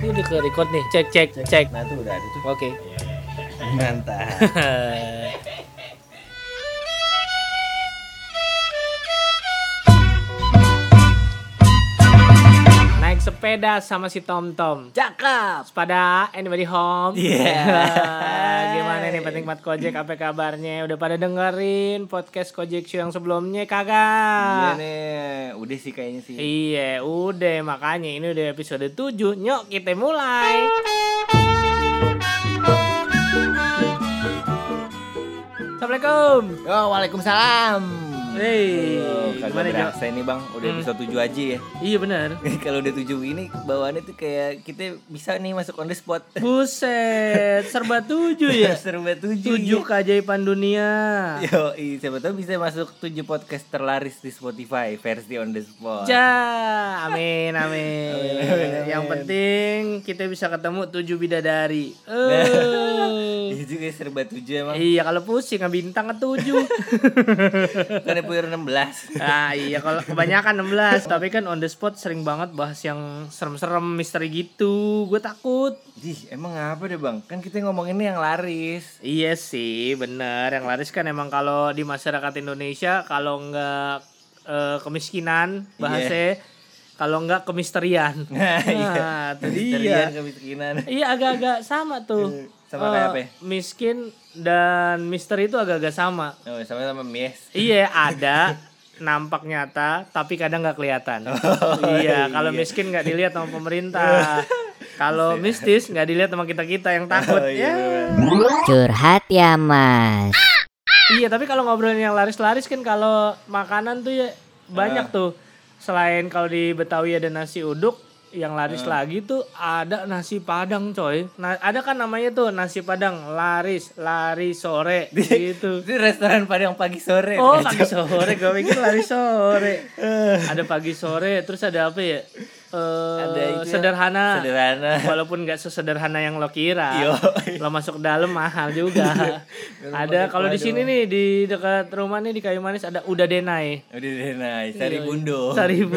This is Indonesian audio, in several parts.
Ini udah ke record nih. Cek. Nah tuh udah ada tuh. Oke. Mantap. Naik sepeda sama si Tom. Cakep. Sepada anybody home? Yeah. Gimana nih penikmat Kojek, apa kabarnya? Udah pada dengerin podcast Kojek Show yang sebelumnya kagak? Iya nih, udah sih kayaknya sih. Iya, udah. Makanya ini udah episode 7. Nyok, kita mulai. Assalamualaikum. Yo, waalaikumsalam. Hei, Gimana gimana, berasa ini bang, udah episode 7 aja ya. Iya benar. Kalau udah 7 ini bawaannya tuh kayak kita bisa nih masuk on the spot. Buset, serba 7 ya. Serba 7. 7 keajaiban dunia. Yo, siapa tahu bisa masuk 7 podcast terlaris di Spotify versi on the spot. Amin. Amin. Yang penting kita bisa ketemu 7 bidadari. Iya juga serba 7 emang. Iya, kalau pusing bintang ke 7. Kan punya 16. Ah iya, kalau kebanyakan 16. Tapi kan on the spot sering banget bahas yang serem-serem, misteri gitu. Gue takut. Emang apa deh bang? Kan kita ngomonginnya yang laris. Iya sih, bener. Yang laris kan emang kalau di masyarakat Indonesia, kalau nggak kemiskinan bahasanya, kalau nggak kemisterian. Nah, itu dia. Kemiskinan. Iya, agak-agak sama tuh. Sama kayak apa ya? Miskin dan misteri itu agak-agak sama. Oh, sama mies. Iya, ada nampak nyata tapi kadang nggak kelihatan. Iya, kalau miskin nggak dilihat sama pemerintah. Kalau mistis nggak dilihat sama kita yang takut. Curhat ya mas. Iya, tapi kalau ngobrolin yang laris-laris kan, kalau makanan tuh ya banyak tuh. Selain kalau di Betawi ada nasi uduk, yang laris lagi tuh ada nasi Padang, coy. Nah, ada kan namanya tuh nasi Padang laris sore gitu. Itu restoran Padang pagi sore. Oh, pagi sore, gue pikir lari sore. Ada pagi sore, terus ada apa ya? Ada itu sederhana. Walaupun nggak sesederhana yang lo kira. Yo. Lo masuk dalam mahal juga. Ada kalau di sini nih di dekat rumah nih di Kayu Manis ada Udah Denai. Sari Bundo.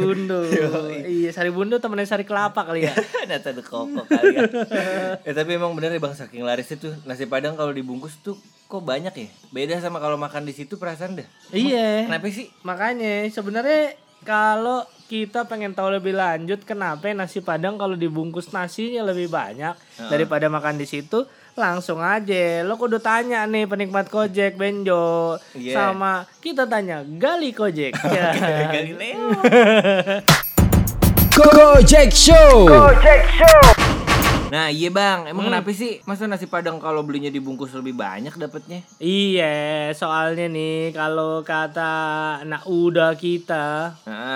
Iya, Sari Bundo temennya Sari Kelapa kali ya. Nata de koko kali ya. Tapi emang bener ya bang, saking larisnya tuh nasi Padang kalau dibungkus tuh kok banyak ya. Beda sama kalau makan di situ perasaan dah. Iya. Kenapa sih? Makanya sebenarnya kalau kita pengen tahu lebih lanjut kenapa nasi Padang kalau dibungkus nasinya lebih banyak daripada makan di situ, langsung aja lo kudu tanya nih penikmat Kojek Benjo sama kita tanya Gali Kojek. Galileo. Kojek Show. Nah iya bang, emang kenapa sih masa nasi Padang kalau belinya dibungkus lebih banyak dapatnya? Iya, soalnya nih kalau kata anak udah kita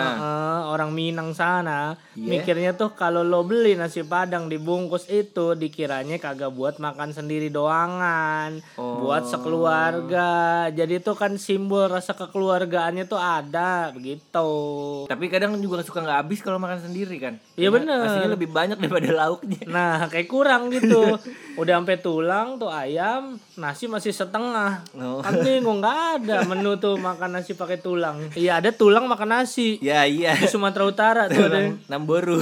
orang Minang sana, mikirnya tuh kalau lo beli nasi Padang dibungkus itu dikiranya kagak buat makan sendiri doangan, buat sekeluarga. Jadi itu kan simbol rasa kekeluargaannya tuh ada begitu. Tapi kadang juga suka nggak habis kalau makan sendiri kan? Iya bener. Nasinya lebih banyak daripada lauknya. Nah, kayak kurang gitu. Udah sampai tulang tuh ayam, nasi masih setengah. Kan bingung, nggak ada menu tuh makan nasi pakai tulang. Iya, ada tulang makan nasi. Iya. Di Sumatera Utara tuh ada. Namboru.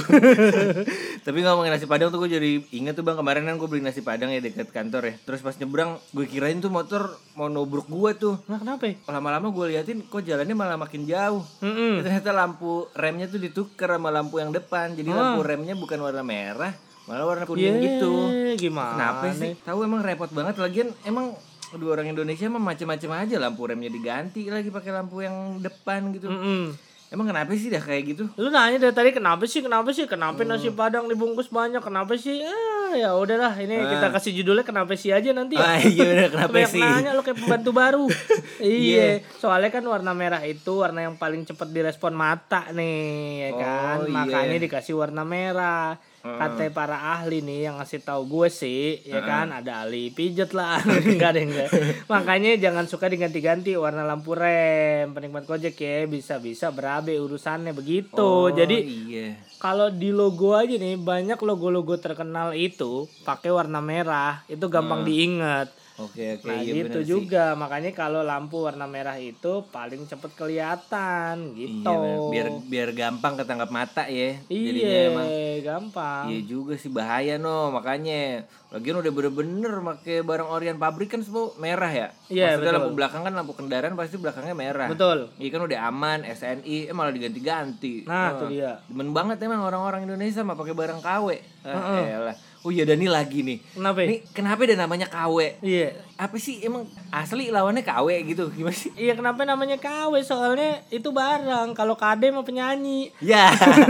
Tapi ngomongin nasi Padang tuh gue jadi inget tuh bang, kemarin kan gue beli nasi Padang ya dekat kantor ya. Terus pas nyebrang gue kirain tuh motor mau nobruk gue tuh. Nah, kenapa? Lama-lama gue liatin kok jalannya malah makin jauh. Ternyata lampu remnya tuh ditukar sama lampu yang depan. Jadi lampu remnya bukan warna merah, malah warna kuning gitu. Gimana? Kenapa sih? Tahu emang repot banget. Lagian emang dua orang Indonesia emang macam-macam aja, lampu remnya diganti lagi pakai lampu yang depan gitu. Emang kenapa sih dah kayak gitu? Lu nanya dari tadi kenapa sih? Kenapa nasi Padang dibungkus banyak? Kenapa sih? Ya udahlah, ini kita kasih judulnya kenapa sih aja nanti ya. Iya bener, kenapa sih? Nanya lu kayak pembantu baru. Iya, soalnya kan warna merah itu warna yang paling cepat direspon mata nih, ya kan? Makanya dikasih warna merah. Kata para ahli nih yang ngasih tahu gue sih, ya kan, ada ahli pijet lah, enggak. Makanya jangan suka diganti-ganti warna lampu rem, penikmat Kojek ya, bisa berabe urusannya begitu. Jadi kalau di logo aja nih banyak logo-logo terkenal itu pakai warna merah, itu gampang diingat. Oke, nah iya gitu juga sih. Makanya kalau lampu warna merah itu paling cepet kelihatan gitu. Iya, biar gampang ketangkap mata ya. Iya, gampang. Iya juga sih, bahaya makanya. Lagian udah bener-bener pakai barang orian pabrik kan semua merah ya. Iya, Maksudnya betul. lampu belakang kan lampu kendaraan pasti belakangnya merah. Betul. Iya kan udah aman, SNI malah diganti-ganti. Nah, itu dia. Demen banget emang orang-orang Indonesia mah pakai barang KW. Elah. Oh iya, dan ini lagi nih. Kenapa? Nih kenapa ada namanya KW? Iya. Apa sih emang asli lawannya KW gitu? Gimana sih? Iya, kenapa namanya KW? Soalnya itu barang. Kalau KD mah penyanyi. Ya.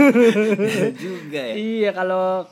Juga ya. Iya, kalau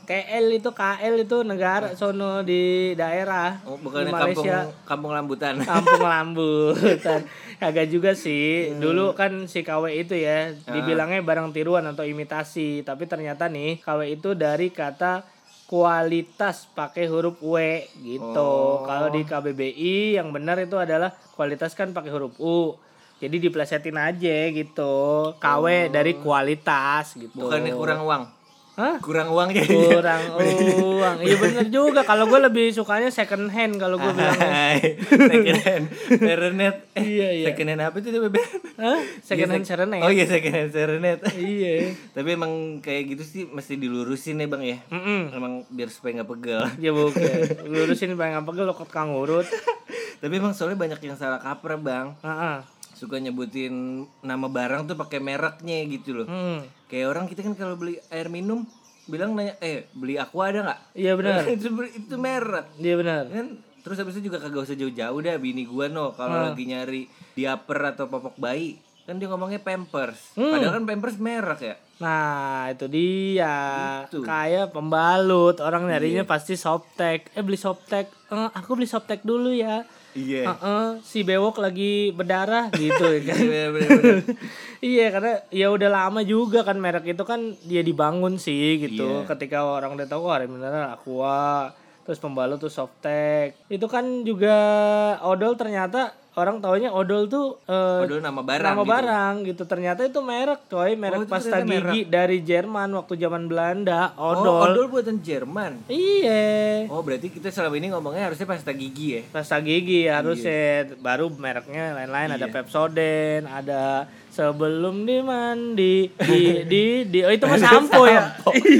KL itu negara sono di daerah. Oh, bukannya di Malaysia. kampung rambutan. Kampung Lambutan. Kagak juga sih. Dulu kan si KW itu ya dibilangnya barang tiruan atau imitasi, tapi ternyata nih KW itu dari kata kualitas pakai huruf W gitu. Kalau di KBBI yang benar itu adalah kualitas kan pakai huruf U. Jadi diplesetin aja gitu. KW dari kualitas gitu. Bukannya kurang uang. Hah? Kurang uang ya. Kurang uang. Iya bener juga. Kalau gue lebih sukanya second hand kalau gue bilang. Second hand Serenet. Iya. Second hand apa itu Bebe? Hah? Second hand serenet. Oh iya, second hand Serenet. Iya. Tapi emang kayak gitu sih mesti dilurusin ya Bang ya. Emang biar supaya gak pegel. Ya bukan. Lurusin pengen apa lo kot kang urut. Tapi emang soalnya banyak yang salah kaprah Bang. Heeh. Suka nyebutin nama barang tuh pakai mereknya gitu loh. Kayak orang kita kan kalau beli air minum bilang nanya, beli Aqua ada nggak? Iya benar. itu merek. Iya benar. Kan terus habis itu juga kagak usah jauh-jauh dah bini gua kalau lagi nyari diaper atau popok bayi kan dia ngomongnya Pampers. Padahal kan Pampers merek ya. Nah itu dia. Gitu. Kayak pembalut. Orang nyarinya pasti Softtek. Beli Softtek. Aku beli Softtek dulu ya. Iya. Si bewok lagi berdarah gitu ya kan. Bener. Iya, karena ya udah lama juga kan merek itu kan dia dibangun sih gitu. Iya. Ketika orang udah tahu ada mineral Aqua, terus pembalut tuh Softtek. Itu kan juga odol, ternyata orang taunya odol tuh Odol nama barang gitu. Ternyata itu merek coy, merek itu pasta ternyata gigi dari Jerman waktu zaman Belanda. Odol buatan Jerman. Iya. Oh berarti kita selama ini ngomongnya harusnya pasta gigi ya. Pasta gigi harusnya. Baru mereknya lain-lain. Ada Pepsodent, ada sebelum dimandi di oh itu mah sampo ya.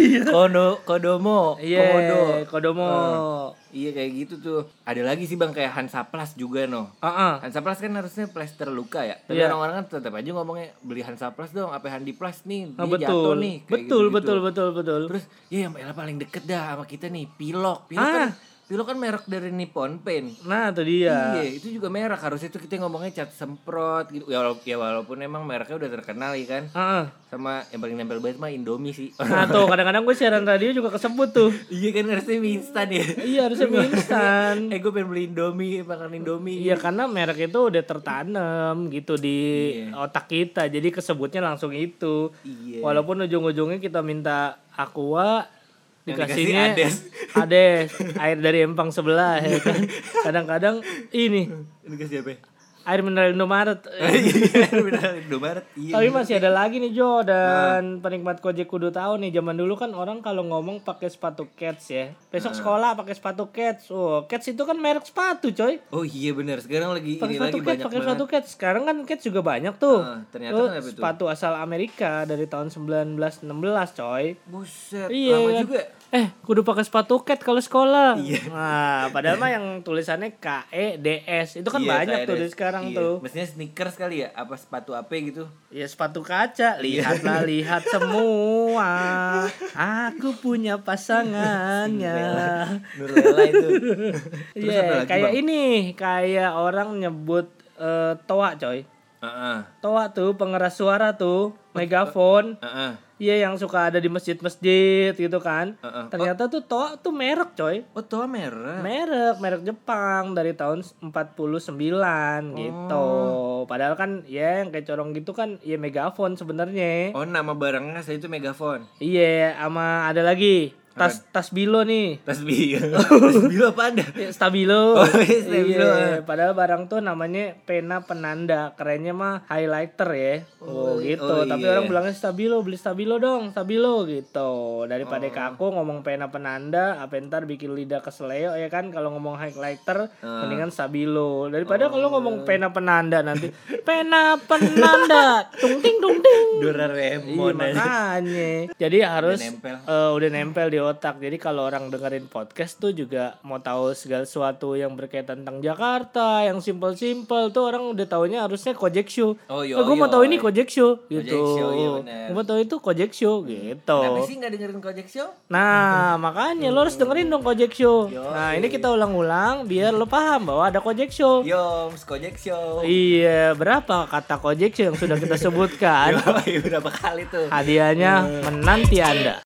Kodomo. Iya, Kodomo. Iya kayak gitu tuh. Ada lagi sih Bang kayak Hansaplast juga Hansaplast kan harusnya plester luka ya. Tapi orang-orang kan tetap aja ngomongnya beli Hansaplast dong, apa Handiplast nih, dia jatuh nih. Betul. Terus ya yang paling deket dah sama kita nih, Pilok kan merek dari Nippon Paint. Nah, itu dia. Iya, itu juga merek. Harusnya itu kita ngomongnya cat semprot gitu. Ya walaupun emang mereknya udah terkenal ya kan. Sama yang paling nempel banget mah Indomie sih. Nah, tuh kadang-kadang gue siaran radio juga kesebut tuh. Iya kan harusnya mie instan ya. Iya, harusnya mie instan. Gue pengen beli Indomie, makan Indomie. Iya, karena merek itu udah tertanam gitu di otak kita. Jadi kesebutnya langsung itu. Iya. Walaupun ujung-ujungnya kita minta Aqua, dikasihnya Ades, air dari empang sebelah ya kan. Kadang-kadang ini dikasih apa? Air mineral Indomaret. Air mineral Indomaret. Iya. Tapi masih ada lagi nih Jo, dan penikmat Gojek kudu tahu nih, zaman dulu kan orang kalau ngomong pakai sepatu Keds ya. Besok sekolah pakai sepatu Keds. Oh, Keds itu kan merek sepatu, coy. Oh iya benar. Sekarang lagi Pake ini lagi banyak pakai sepatu Keds. Sekarang kan Keds juga banyak tuh. Ternyata kan apa itu? Sepatu asal Amerika dari tahun 1916, coy. Buset, Iya, lama kan? juga. Kudu pakai sepatu Keds kalau sekolah. Iya. Nah, padahal mah yang tulisannya KEDS. Itu kan banyak tuh di sekarang tuh. Mestinya sneakers kali ya, apa sepatu apa gitu. Ya sepatu kaca, lihatlah lihat semua. Aku punya pasangannya. Nurlela itu. Iya, kayak ini, kayak orang nyebut toa, coy. Toa tuh pengeras suara tuh, megafon. Iya, yang suka ada di masjid-masjid gitu kan. Ternyata tuh toa tuh merek, coy. Oh, toa merek. Merek Jepang dari tahun 49 gitu. Padahal kan ya yang kayak corong gitu kan ya megafon sebenarnya. Oh, nama barangnya saya itu megafon. Iya, sama ada lagi tas Bilo nih. Tas Bilo apa ada? Stabilo. Oh, Stabilo. Iya, padahal barang tuh namanya pena penanda, kerennya mah highlighter ya. Gitu. Tapi orang bilangnya Stabilo, beli Stabilo dong, Stabilo gitu. Daripada kaku ngomong pena penanda, apa ntar bikin lidah keseleo ya kan, kalau ngomong highlighter mendingan Stabilo. Daripada kalau ngomong pena penanda nanti pena penanda tung ting. Doraemon. Iya, makanya. Jadi harus udah nempel di otak. Jadi kalau orang dengerin podcast tuh juga mau tahu segala sesuatu yang berkaitan tentang Jakarta, yang simpel-simpel tuh orang udah taunya harusnya Kojek Show. Gue mau tahu ini Kojek Show gitu. Gue mau tahu itu Kojek Show gitu. Kenapa sih nggak dengerin Kojek Show? Nah makanya lo harus dengerin dong Kojek Show. Nah ini kita ulang-ulang biar lo paham bahwa ada Kojek Show. Yoms, Kojek Show. Iya, berapa kata Kojek Show yang sudah kita sebutkan? Berapa kali tuh? Hadiahnya menanti Anda.